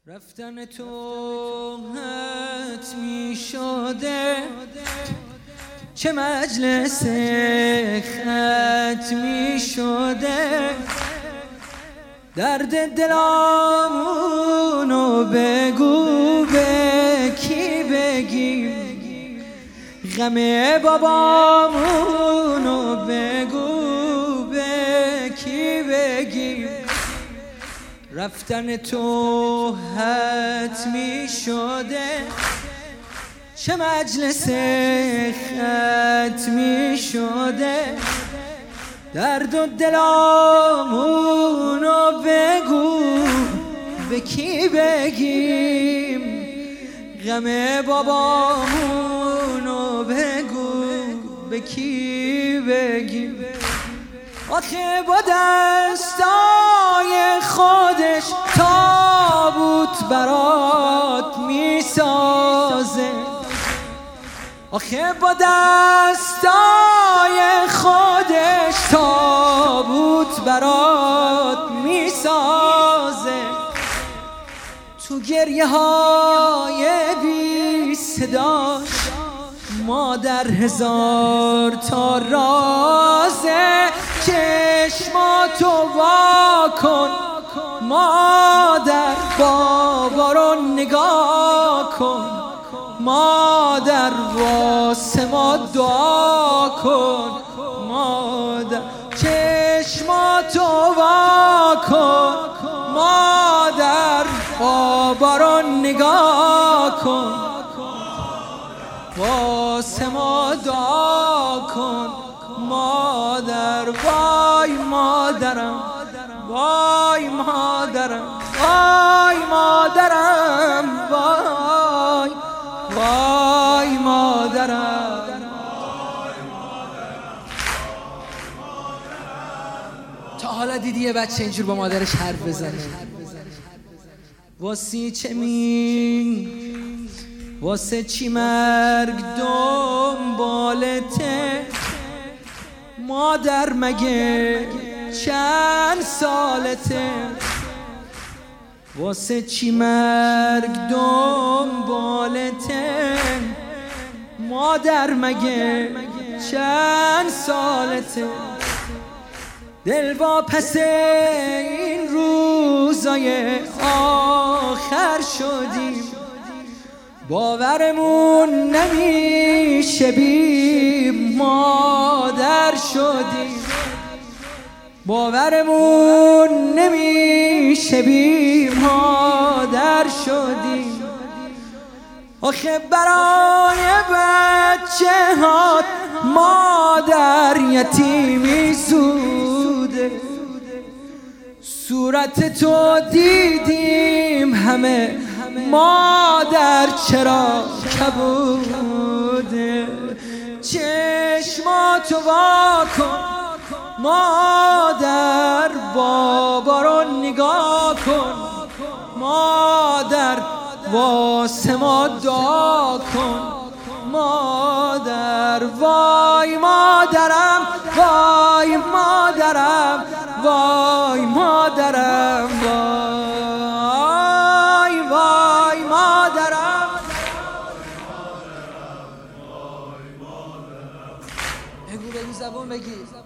رفتن تو حتمی شده، چه مجلس ختمی شده. درد دلامونو بگو به کی بگیم، غم بابامونو بگو به کی بگیم. رفتن تو حتمی شده، چه مجلس ختمی شده. درد و دلامونو بگو به کی بگیم، غم بابامونو بگو به کی بگیم. آخه با دستای خودش تابوت برات میسازه، آخه با دستای خودش تابوت برات میسازه. تو گریه های بی صداش مادر هزار تا رازه. چشماتو وا کن مادر، بابا رو نگاه کن مادر، واسه ما دعا کن مادر. چشماتو وا کن مادر، بابا رو نگاه کن واسه ما دعا کن مادر. وای مادرم، وای مادرم، وای مادرم، وای وای مادرم. تا حالا دیدی یه بچه اینجور با مادرش حرف بزنه؟ واسه چه واسه چی مرگ دنبالته مادر، مگه چند سالته؟ واسه چی مرگ دنبالته مادر، مگه چند سالته؟ دل با پس این روزای آخر شدیم، باورمون نمیشه بی مادر شدیم، باورمون نمیشه بی مادر شدیم. آخه برای بچه هات مادر یتیمی زوده. صورت تو دیدیم همه مادر چرا کبوده. چشماتو وا کن مادر، بابا رو نگاه کن مادر، واسه ما دعا کن مادر. وای مادرم، وای مادرم، وای مادرم، وای وای مادرم. بگو زبون بگی.